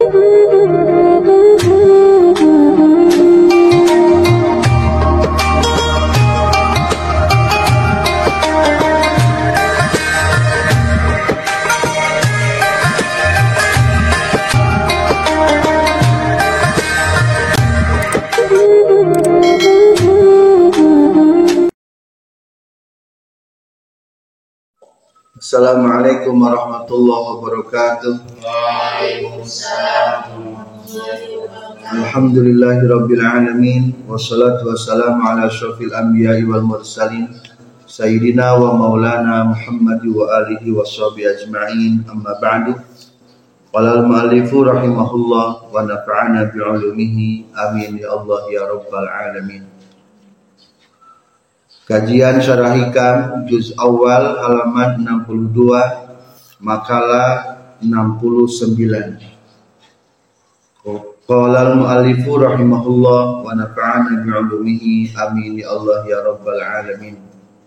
Assalamualaikum warahmatullahi wabarakatuh. Waalaikumsalam. Alhamdulillahirabbil alamin wassalatu wassalamu ala asyrofil anbiya'i wal mursalin sayyidina wa maulana Muhammad wa alihi washabihi ajma'in, amma ba'du. Qala al-mu'allifu rahimahullah wa nafa'ana bi'ulumihi amin ya Allah ya rabbal alamin. Kajian Syarah Hikam juz awal halaman 62 makalah 69. Qala al-mu'allifu rahimahullah wa nafa'ana bi'ulumihi amin ya Allah ya rabbal alamin.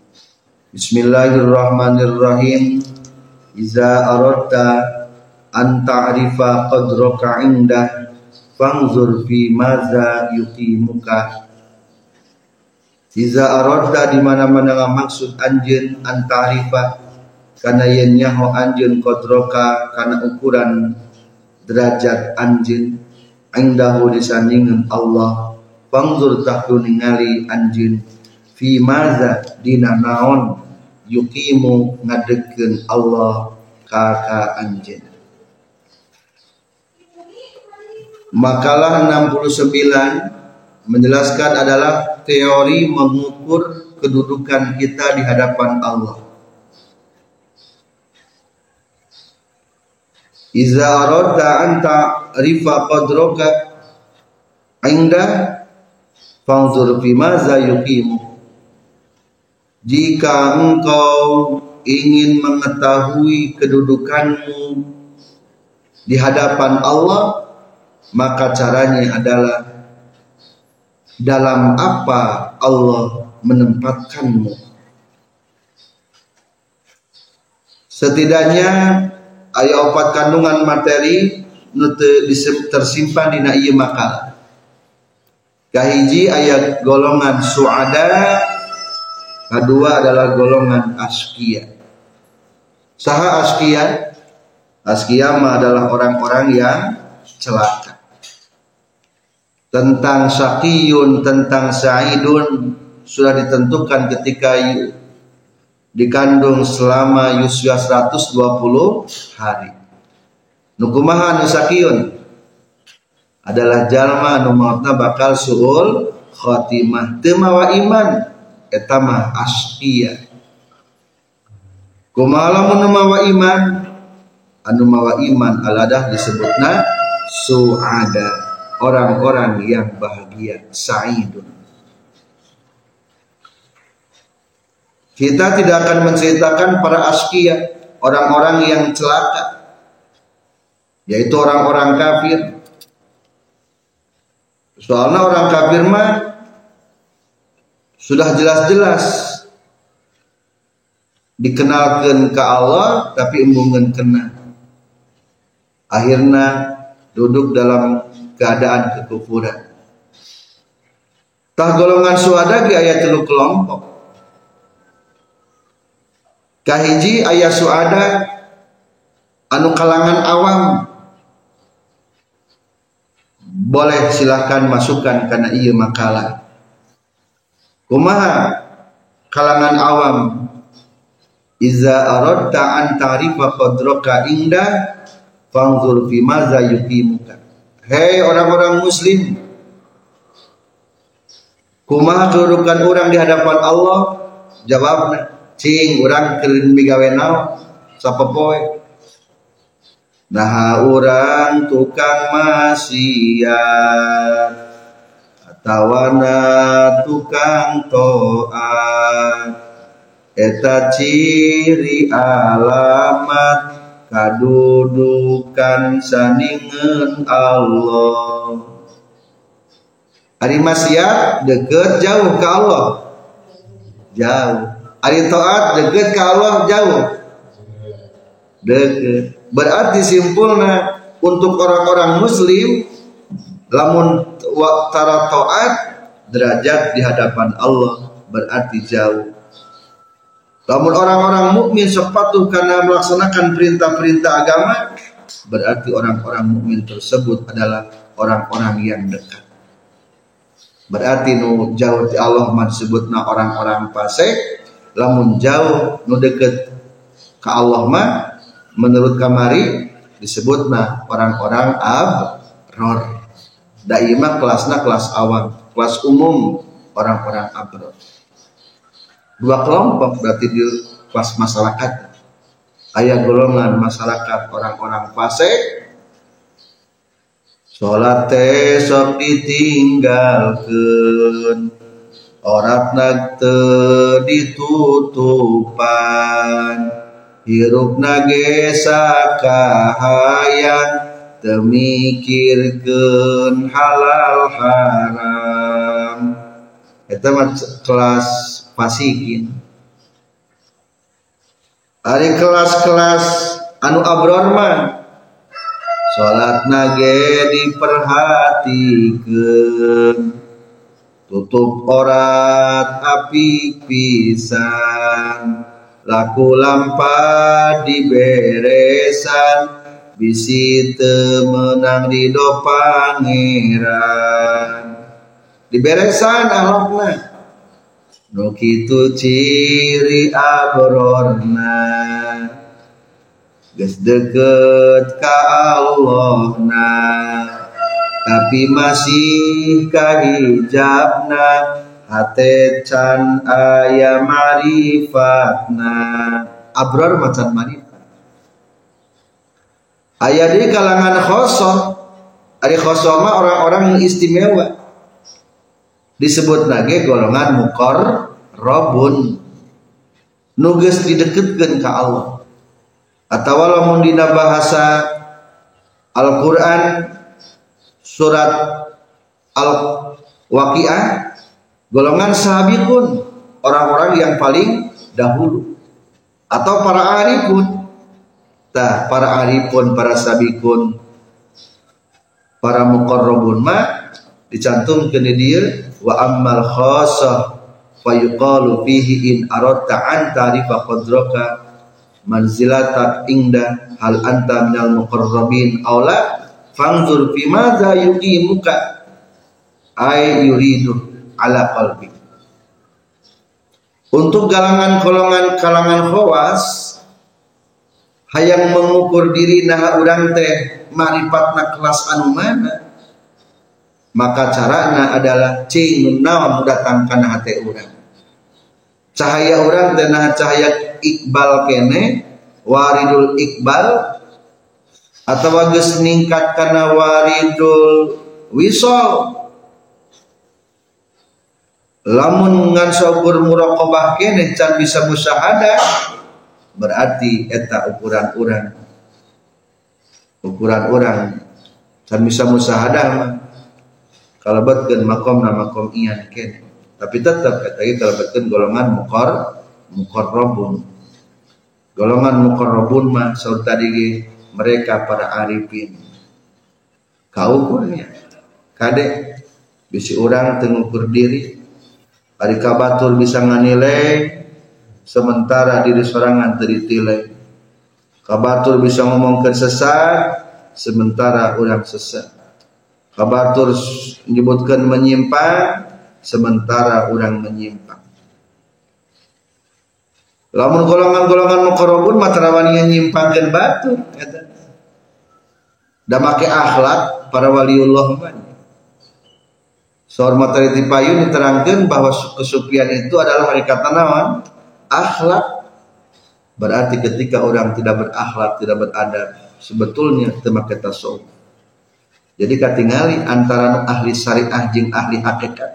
Bismillahirrahmanirrahim. Iza aradta an ta'rifa qadraka indah fanzur fi maza yuqimuka. Iza aradta di mana-mana maksud anjeun an ta'rifa kana yen nyaho anjeun qadraka kana ukuran derajat anjeun indahu disandingan Allah, fanzur tahtu ningali anjeun fi maza dina naon yuqimu ngadegkeun Allah ka anjeun. Makalah 69 menjelaskan adalah teori mengukur kedudukan kita di hadapan Allah. Iza aradta anta rifa qadraka inda fanzur fi maza yuqimu. Jika engkau ingin mengetahui kedudukanmu di hadapan Allah, maka caranya adalah dalam apa Allah menempatkanmu. Setidaknya aya 4 kandungan materi nu tersimpan dina ieu makalah. Kahiji aya golongan suada, kedua adalah golongan askia. Saha askia? Askia mah adalah orang-orang yang celaka. Tentang syaqiyun, tentang sa'idun sudah ditentukan ketika dikandung selama usia 120 hari. Nu kumaha anu syaqiyun? Adalah jalma anu mautna bakal suul khotimah, teu mawa iman, eta mah asqiya. Kumaha lamun mawa iman? Anu mawa iman aladah disebutna suada, orang-orang yang bahagia, sa'idun. Kita tidak akan menceritakan para asqiya, orang-orang yang celaka, yaitu orang-orang kafir. Soalnya orang kafir mah sudah jelas-jelas dikenalkan ke Allah tapi embungeun kena. Akhirnya duduk dalam keadaan kekufuran. Tah golongan suada ge aya 3 kelompok. Kahiji aya suada anu kalangan awam. Boleh silahkan masukkan karena ieu makalah. Kumaha kalangan awam? Iza aradta an ta'rifa qadraka inda fanzur fi maza yuqimuka. Hei orang-orang muslim, kumaha kedudukan orang di hadapan Allah? Jawabna, cing urang keur migawe naon sapopoe. Nah urang tukang maksiat atawana tukang taat, eta ciri alamat kadudukan sandingan Allah. Ari maksiat deket jauh ke Allah, jauh. Ari taat deket ke Allah, jauh, deket. Berarti simpulna untuk orang-orang muslim lamun tara taat derajat di hadapan Allah berarti jauh. Lamun orang-orang mukmin sok patuh karena melaksanakan perintah-perintah agama berarti orang-orang mukmin tersebut adalah orang-orang yang dekat. Berarti nu jauh ti Allah mah disebutna orang-orang fasik, lamun jauh nu deket ka Allah mah menurut kamari disebutna orang-orang abror. Da ieu mah kelasna kelas awam, kelas umum orang-orang abror. Dua kelompok berarti di kelas masyarakat. Aya golongan masyarakat orang-orang fasik. Salat teh sok ditinggalkeun, oratna teu ditutupan, hirupna ge sakahayang teu mikirkeun halal haram. Eta mah kelas fasikin. Ari kelas-kelas anu abror mah salatna ge diperhatikeun, tutup orat apik pisan, laku lampah diberesan, bisi teu meunang ridho pangeran. Diberesan akhlakna, nu kitu ciri abrorna. Geus deket ka Allahna tapi masih kahijabna, hate can aya marifatna. Abror macan marifat. Aya di kalangan khosoh. Ari khosoh mah orang-orang yang istimewa. Disebut lagi golongan muqarrabun. Nu geus dideketkeun ka Allah. Atau lamun dina bahasa Al-Quran surat Al-Waqiah golongan sahabiqun, orang-orang yang paling dahulu, atau para arifun. Tah, para arifun, para sabiqun, para muqarrabun mah dicantumkeun di dieu wa ammal khassah fa yuqalu fihi in aradta an ta'rifa qadraka manzilatak inda hal anta minal muqarrabin aula fanzur fi madza yuqimuka ay yuridu ala qalbi. Untuk kalangan khawas hayang mengukur diri nah urang teh maripatna kelas anu mana, maka carana adalah cing naon datangkan hati urang. Cahaya urang teh nah cahaya iqbal kene, waridul iqbal, atau geus ningkat kana waridul wisol. Lamun ngan saukur muraqabah kene can bisa musyahadah, berarti eta ukuran urang can bisa musyahadah mah kalebetkeun maqamna maqam iyan kene. Tapi tetap eta ge kalebetkeun golongan muqarrabun. Golongan muqarrabun mah saur tadi mereka para arifin. Kaukurnya kade bisi urang teu ngukur diri, ari kabatur bisa nganilai sementara diri sorangan teu ditilai. Kabatur bisa ngomongkeun sesat sementara urang sesat. Kabatur menyebutkeun menyimpang sementara orang menyimpang. Lamun golongan-golongan muqarrabun mah tarawani nyimpangkeun batur eta. Da make akhlak para waliullah mah. Saur materi ti payun diterangkeun bahwa kesucian itu adalah hakikatna naon? Akhlak. Berarti ketika orang tidak berakhlak, tidak beradab, sebetulnya teu make tasawuf. Jadi katingali antara ahli syariah jeung ahli hakikat.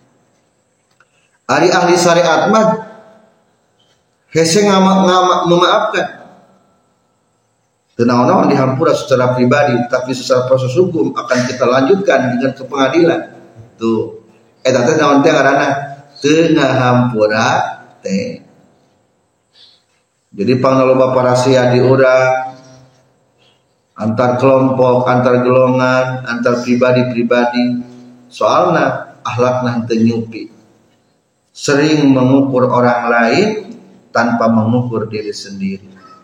Ari ahli syariat mah hese memaafkan. Tenang-tenang dihampura secara pribadi, tapi secara proses hukum akan kita lanjutkan dengan ke pengadilan. Tuh, eta teh naon teh ngaranna? Teu ngahampura teh. Jadi panglaloba para sia di urang antar kelompok, antar golongan, antar pribadi-pribadi. Soalna akhlakna teu nyupi, sering mengukur orang lain tanpa mengukur diri sendiri.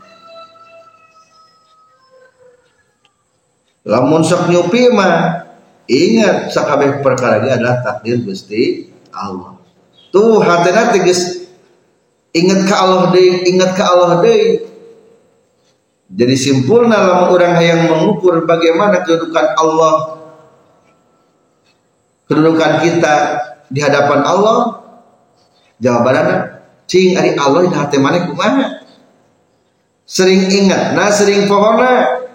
Lamun sok nyupi mah ingat sakabeh perkara ge adalah takdir Gusti Allah. Tuh hatena teh geus ingat ka Allah deui, ingat ka Allah deui. Jadi simpulna lamun urang hayang mengukur bagaimana kedudukan Allah, kedudukan kita di hadapan Allah, jawabanna cing ari Allah di hati maneh kumaha? Sering ingat, sering pohona.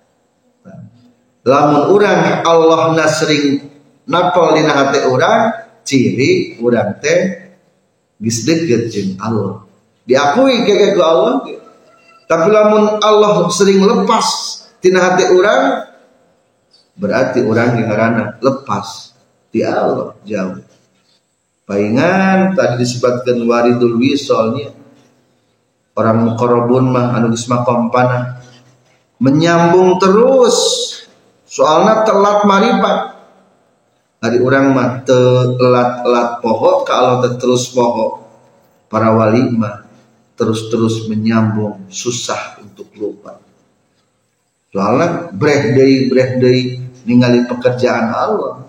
Lamun urang Allah sering napol dina hati urang, ciri urang teh geus deukeut jeung Allah. Diakui ke Allah. Tapi lamun Allah sering lepas tina hati urang, berarti urang ge ngaranna lepas ti Allah jauh. Paingan tadi disebutkan waridul wisolnya, orang muqarrabun mah anu geus makompana menyambung terus, soalna telat maripat. Hari urang mah telat poho ka Allah terus poho. Para wali mah terus menyambung, susah untuk lupa. Soalna breh deui ningali pekerjaan Allah.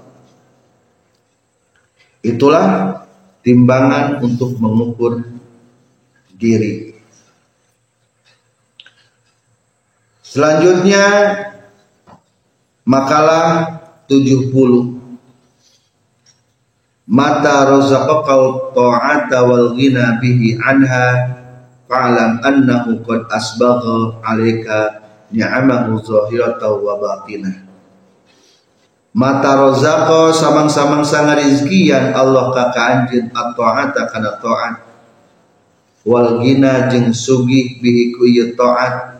Itulah timbangan untuk mengukur diri. Selanjutnya makalah 70. Mata razaqaka ta'ata wal ghina bihi anha fa'lam annahu qad asbagha 'alaika ni'amahu zahiratan wa batinah. Mata rozako samang-samang sang rizkian Allah ka anjeun at-ta'ata kana ta'at wal ghina jeung sugih bihi ku ieu ta'at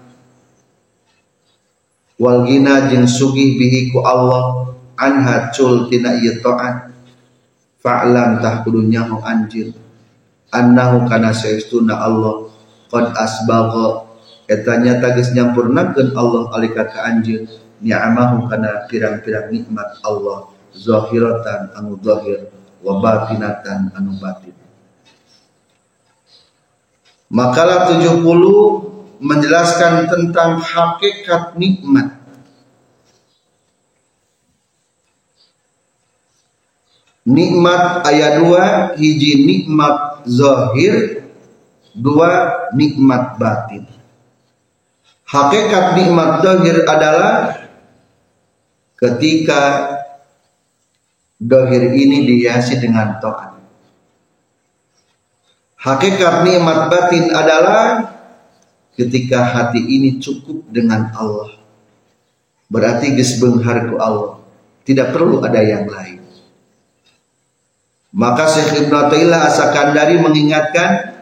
wal ghina jeung sugih bihi ku Allah anha cul tina ieu ta'at fa'lam tah kudu nyaho anjeun annahu kana saestuna Allah qad asbagha eta nyata geus nyampurnakeun Allah alika ka anjeun ni'amahu kana pirang-pirang nikmat Allah zahiratan anu zahir wa batinatan anu batin. Makalah 70 menjelaskan tentang hakikat nikmat. Nikmat ayat 2, hiji nikmat zahir, 2 nikmat batin. Hakikat nikmat zahir adalah ketika dohir ini dihiasi dengan taat. Hakikat nikmat batin adalah ketika hati ini cukup dengan Allah. Berarti geus beunghar ku Allah, tidak perlu ada yang lain. Maka Syekh Ibnu Athaillah As-Sakandari mengingatkan,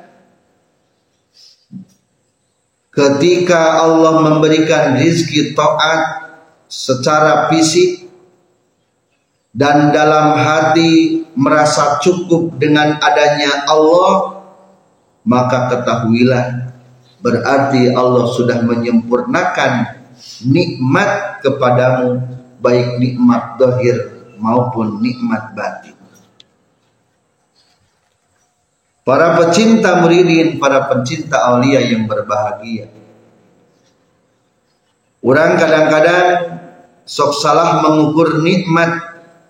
ketika Allah memberikan rizki taat secara fisik dan dalam hati merasa cukup dengan adanya Allah, maka ketahuilah berarti Allah sudah menyempurnakan nikmat kepadamu, baik nikmat zahir maupun nikmat batin. Para pecinta muridin, para pencinta aulia yang berbahagia, orang kadang-kadang sok salah mengukur nikmat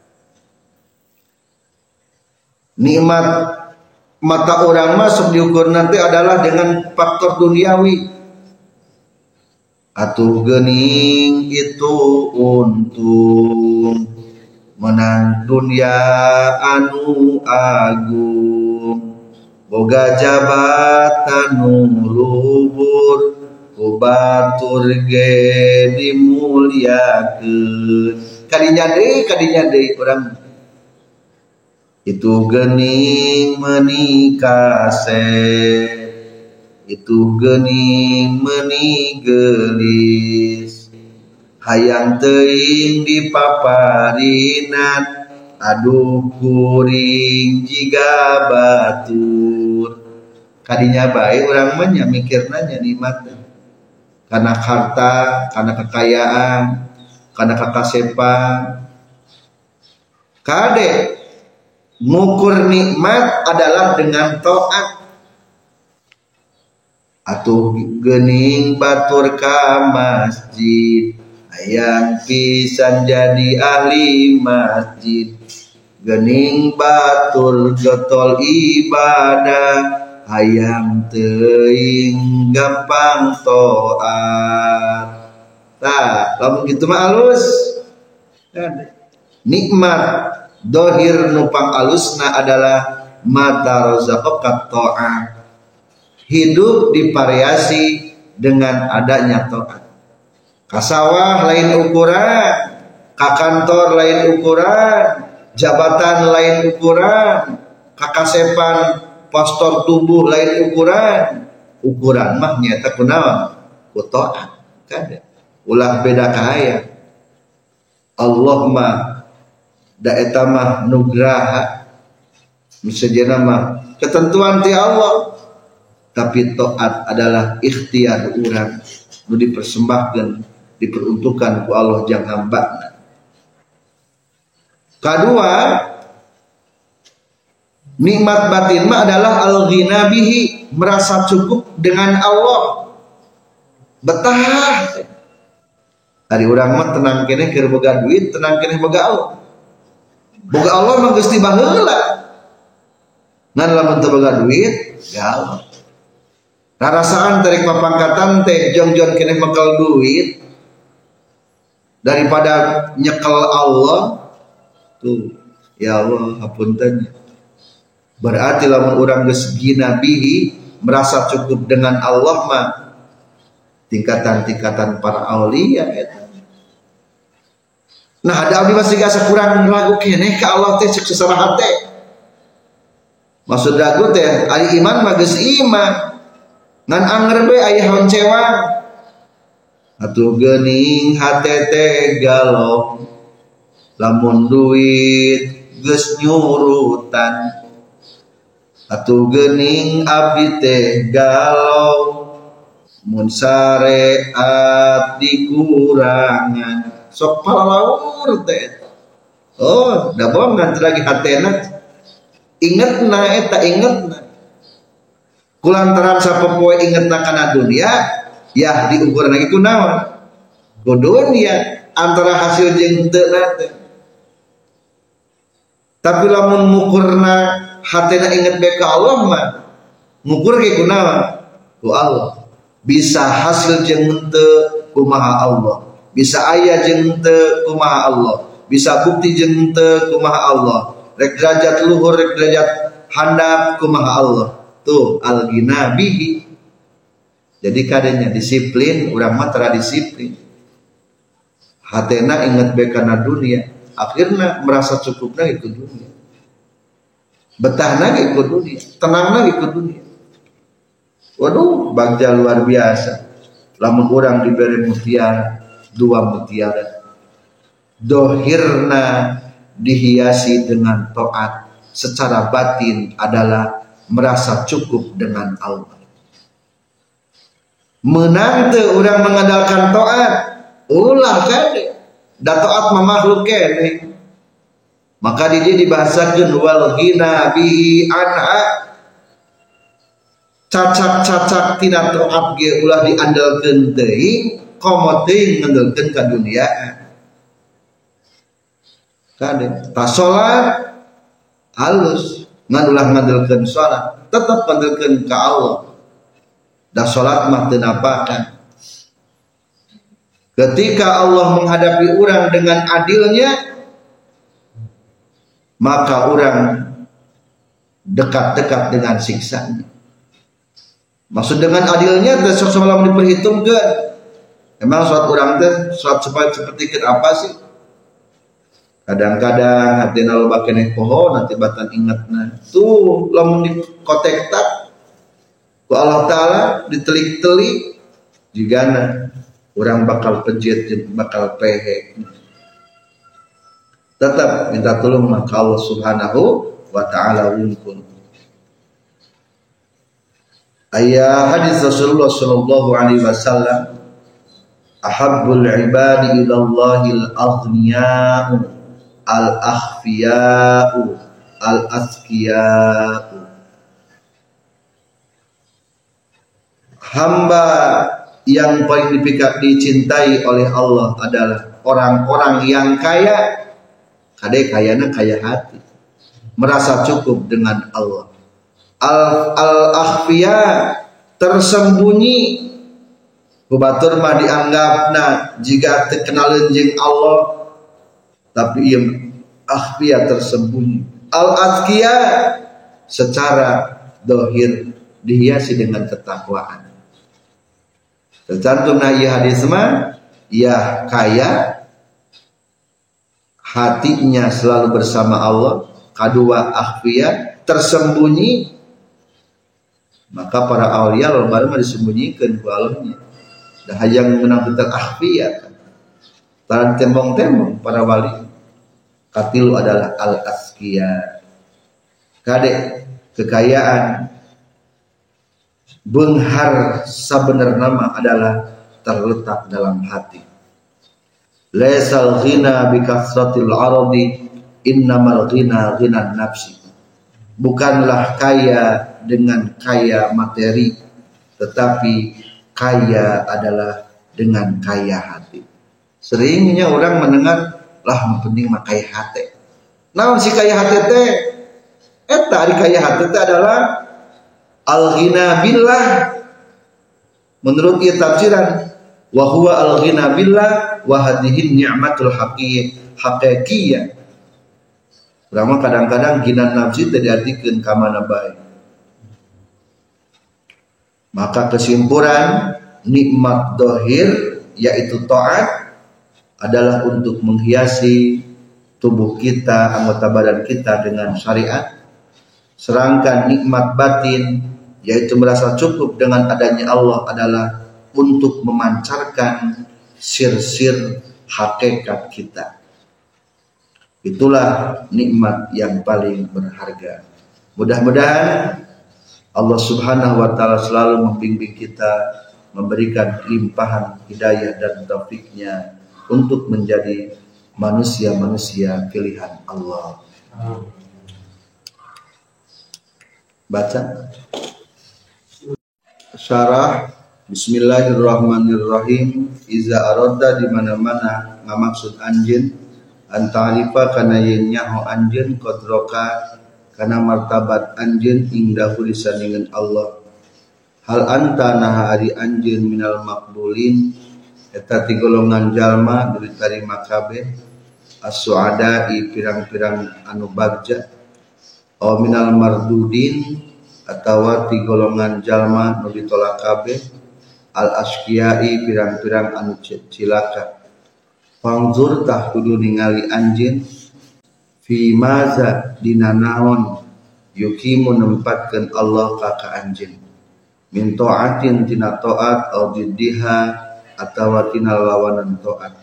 mata orang masuk diukur nanti adalah dengan faktor duniawi. Atuh geuning itu untung menang dunia anu agung, boga jabatan nu luhur, ku batur ge dimuliakeun. Kadinya deui urang itu geuning meuni kaset, itu geuning meuni geulis, hayang teuing dipaparinan, aduh kuring jiga batur. Kadinya bae urang mah nya mikirna nya nikmat. karena harta, karena kekayaan, karena kekasepan. Kade ngukur nikmat adalah dengan taat. Atuh geuning batur ka masjid, hayang pisan jadi ahli masjid. Geuning batur jotol ibadah, hayang teuing gampang taat. Tah, lamun kitu mah alus. Nikmat dohir nupang alusna adalah mata rozaqaka ta'ah. Hidup divariasi dengan adanya taat. Kasawah lain ukuran, ka kantor lain ukuran, jabatan lain ukuran, kakasepan postur tubuh lain ukuran. Ukuran mah nyata kunaon? Ku taat. Kada. Ulah beda kahaya. Allah mah da eta mah nugraha. Misalnya mah ketentuan ti Allah. Tapi taat adalah ikhtiar urang nu dipersembahkeun, diperuntukkan ku Allah jang hamba. Kedua, nikmat batin mah adalah al-ghina bihi, merasa cukup dengan Allah. Betah. Ari urang mah tenang keneh keur boga duit, tenang keneh boga Allah. Boga Allah mah geus ti baheula. Ngan lamun teu boga duit, ya Allah. Rasaan tarik papangkatan teh jong-jong keneh bekal duit daripada nyekel Allah tuh. Ya Allah hapunten. Berarti lamun urang geus ghina bihi, merasa cukup dengan Allah mah tingkatan-tingkatan para aulia eta. Nah, ada abdi masih gak kurang ragu keneh ka Allah teh cek sesaraha teh. Maksud ragu teh ari iman mah geus iman. Ngan anger be aya honcewang. Atuh geuning hate teh galau. Lamun duit geus nyurutan. Atuh geuning abdi teh galau. Mun sareat dikurangan. Sok palalaur teh. Oh, da bohong ngan lagi hatena. Ingetna eta ingetna. Kulantaran sapopoe ingetna kana dunia, ya diukur lagi kunaon? Ku dunia antara hasil jeung teu teh. Tapi lamun mukurna hatena inget bae ka Allah mah, ngukur ge kunaon? Ku Allah. Bisa hasil jeung teu kumaha Allah. Bisa aya jeung teu kumaha Allah. Bisa bukti jeung teu kumaha Allah. Rek derajat luhur, rek derajat handap kumaha Allah. Tuh al-ghina bihi. Jadi kadenya disiplin, urang mah tara disiplin. Hatena inget bae kana dunia, akhirna merasa cukupna itu dunia. Betahna ge ku dunia, tenangna ge ku dunia. Waduh, bagja luar biasa. Lamun urang diberi mutiara, 2 mutiara. Dohirna dihiasi dengan taat, secara batin adalah merasa cukup dengan Allah. Menang teu urang mengandalkan taat, ulah kade. Da taat mah makhluk kene. Maka di dieu dibahasakeun wal ghina bihi anha. Cacak-cacak tina taat ge ulah diandalkeun teuing, komo teuing ngandalkeun ka dunia. Kade, ta salat halus ngan ulah ngandalkeun salat, tetep ngandalkeun ka Allah. Da salat mah teu napakan. Ketika Allah menghadapi urang dengan adilnya, maka urang dekat-dekat dengan siksanya. Maksud dengan adilnya teh sok samalam diperhitungkeun. Emang salat urang teh salat seperti apa sih? Kadang-kadang hatina loba keneh poho nanti batan ingatna. Tuh lamun dikotek tak ku Allah Ta'ala ditelik-telik jigana urang bakal pejit bakal pehe. Tetap minta tolong maka Allah Subhanahu wa Ta'ala wungkul. Ayat hadis Rasulullah sallallahu alaihi wasallam ahabbul ibadi ilallahil aghniya'u al-akhfiya'u al-askiya'u. Hamba yang paling dicintai oleh Allah adalah orang-orang yang kaya, kayana kaya hati, merasa cukup dengan Allah. Al-akhfiya, tersembunyi, batur mah dianggapna jika terkenal jeung Allah, tapi ia akhfiya, tersembunyi. Al-atqiya, secara dohir dihiasi dengan ketakwaan. Tercantum ieu hadis mah, ia kaya, hatinya selalu bersama Allah. Kedua akhfiya, tersembunyi. Maka para aulia loba mah disembunyikan ku Allahnya. Dah hayang menang tentang akhfiya. Taran tembong-tembong para wali. Katilu adalah al-askiya. Kade kekayaan beunghar sabener nama adalah terletak dalam hati. Laisal ghina bi kasratil aradi, innamal ghina ghinan nafsi. Bukanlah kaya dengan kaya materi, tetapi kaya adalah dengan kaya hati. Seringnya orang mendengar, lah penting mah kaya hati. Naon si kaya hati teh? Eta ari kaya hati teh adalah al-ghina billah. Menurut ieu tafsiran, wa huwa al-ghina billah wa hadhihi ni'matul haqiqiyah. Urang kadang-kadang gina nafsi teh diartikeun ka mana bae. Maka kesimpulan, nikmat dohir yaitu taat adalah untuk menghiasi tubuh kita, anggota badan kita dengan syariat. Sedangkan nikmat batin yaitu merasa cukup dengan adanya Allah adalah untuk memancarkan sir-sir hakikat kita. Itulah nikmat yang paling berharga. Mudah-mudahan Allah Subhanahu wa taala selalu membimbing kita, memberikan limpahan hidayah dan taufiknya untuk menjadi manusia-manusia pilihan Allah. Baca syarah. Bismillahirrahmanirrahim. Iza aradda, di mana-mana ngamaksud anjeun, anta'rifa kana yen nyaho anjeun qadroka kana martabat anjeun ingdahu disandingan Allah. Hal anta naha ari anjeun minal maqbulin, eta ti golongan jalma nu ditarima kabeh, as-su'ada'i pirang-pirang anu bagja, aw minal mardudin atawa ti golongan jalma nu ditolak kabeh, al-asqiya'i pirang-pirang anu cilaka. Fangzur tah kudu ningali anjeun fi maza dina naon yukimu nempatkeun Allah ka anjeun, min taatin tina taat au diddiha atawa tina lawanan taat.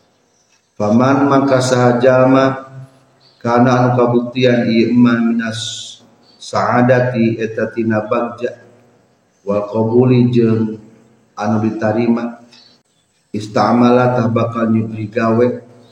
Faman maka sahajalma kana anu kabuktian ieu iman minas saadati eta tina bagja wal qabuli jeung anu ditarima, istamala tah bakal nyubri gawe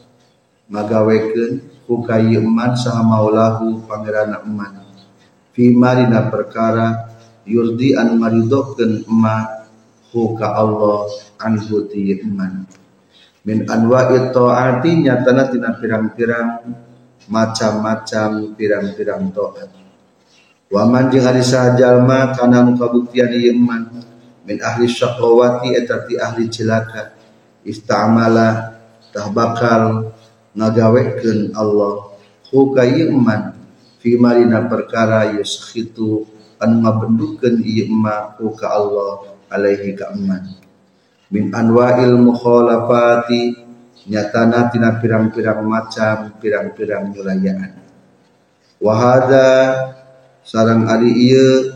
ngagawekeun ku kayeu eman saha maulahu pangeranna eman, fima dina perkara yurdi anu ngaridokeun eman ku ka Allah anhu ti eman, min anwa'it taati nyatana tina pirang-pirang macam-macam pirang-pirang taat. Wa man jeung ari sajalma kana anu kabuktian ieu eman min ahli syaqawati eta ti ahli cilaka, istamala tah bakal ngagawekeun Allah ku kayeu eman fi marina perkara yuskhitu anu ngabendukeun ieu eman ku ka Allah alaihi ka eman, min anwa'il mukhalafati nyatana tina pirang-pirang macam pirang-pirang nyulayaan. Wa hadza sareng ari ieu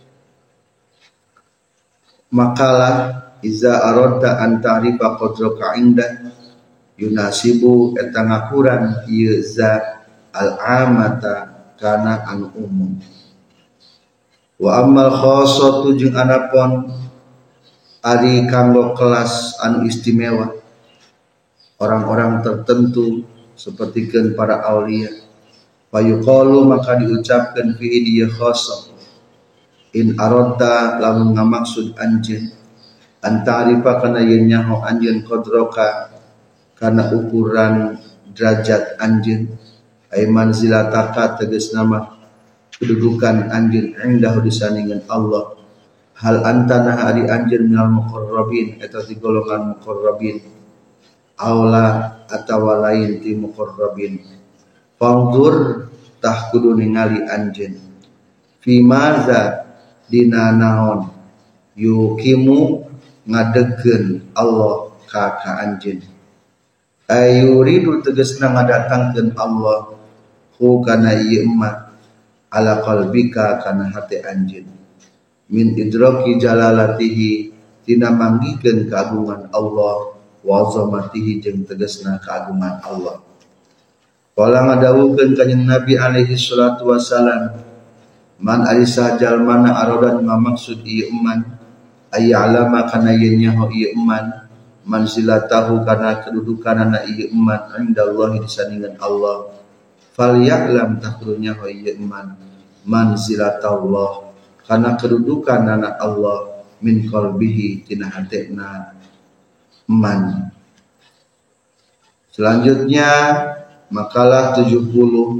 makalah iza aradda an ta'rifa qadraka inda yunasibu eta ngakuran ieu za al-amata kana anu umum. Wa ammal khassatu jeung anapun ari kanggo kelas anu istimewa, orang-orang tertentu sepertikeun para aulia. Fayuqalu maka diucapkan fihi dia khassa, in aradta lamun ngamaksud anjeun antarifa kana yen nyaho anjeun qadroka kana ukuran derajat anjeun, ay manzilataka tegas nama kedudukan anjeun indahu disandingan Allah. Hal antana ari anjeun minal muqarrabin eta ti golongan muqarrabin, aula atawa lain ti muqarrabin. Fangdur tah kudu ningali anjeun fi maza dina naon yukimu ngadegkeun Allah ka anjeun. Ayuridu tegasna ngadatangkeun Allah hu kana ieu emma ala qalbika kana hati anjeun, min idraki jalalatihi tina manggikeun keagungan Allah wa azamatihi jeung tegasna keagungan Allah. Qala ngadawukeun kanjeng Nabi alaihi salatu wasalam, man alisa jalmana aradan ngamaksud ieu eman ayya'lama kana yen nyaho ieu eman manzilatahu kana kedudukanana ieu eman indallahi disandingan Allah, falya'lam tahrunya ho ieu eman manzilatallah kana kedudukanana Allah min qalbihi tina hatena eman. Selanjutnya makalah 70,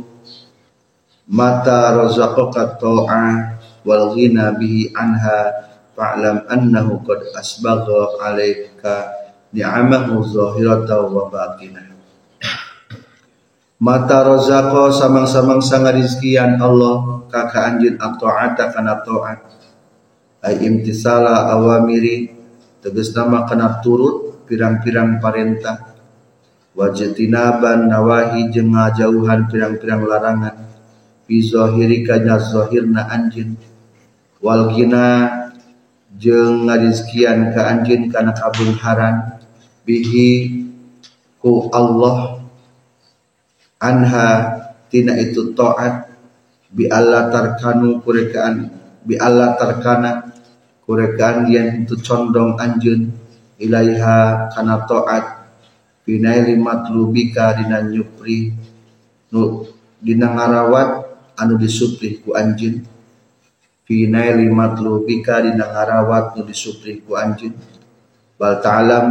mata razaqaka ta'ah wal ghina bihi anha fa'lam annahu qad asbagha 'alaika ni'amahu zahiratan wa batinah. Mata razaqo samang-samang sanga rizkian Allah ka anjeun at-ta'ata kana ta'at, ay imtisala awamiri tegasna kana turut pirang-pirang parentah, wajtinaban nawahi jeung ngajauhan pirang-pirang larangan, fi zahirika nya zahirna anjeun, wal ghina jeung ngarizkian ka anjeun kana kabungharan bihi ku Allah anha tina itu taat, bi alla tarkanu kurekaan bi alla tarkana kurekaan yen itu condong anjeun ilaiha kana taat binaili matlubika dina nyupri nu dina ngarawat anu disupri ku anjeun, binaili matlubika dina ngarawat nu disupri ku anjeun, bal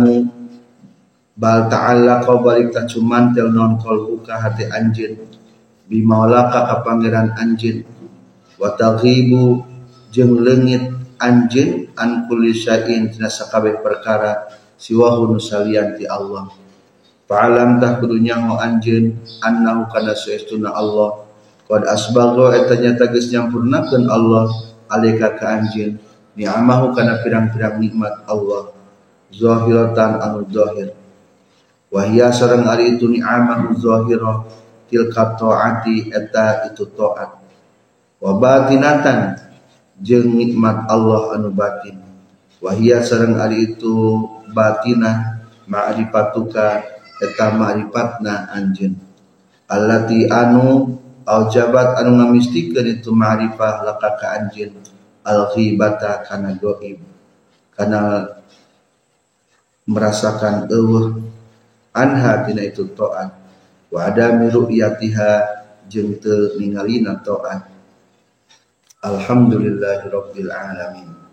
ta'allaqa balik ta cuman tel non qalbuka hati anjeun bi maulaka ka pangeran anjeun, wa taghibu jeung leungit anjeun an kulli syai'in tina sakabeh perkara siwahu nu salian ti Allah. Fa'alam tah kudu nyaho anjeun annahu kana saestuna Allah qad asbagha eta nya tegas nyampurnakeun Allah alaika ka anjeun ni'amahu kana pirang-pirang nikmat Allah zahiratan anu zahir, wahia sareng ari itu ni'amahu zahirah tilka ta'ati eta itu ta'at, wa batinatan jeung nikmat Allah anu batin, wahia sareng ari itu batinah ma'rifatuka eta ma'rifatna anjeun, allati anu aujabat anu ngamistikeun itu ma'rifah laka ka anjeun al-ghibata kana gaib, kana merasakan eueuh anha tina itu taat, wa adami ru'yatiha jeung teu ningalina taat. Alhamdulillahirabbil alamin.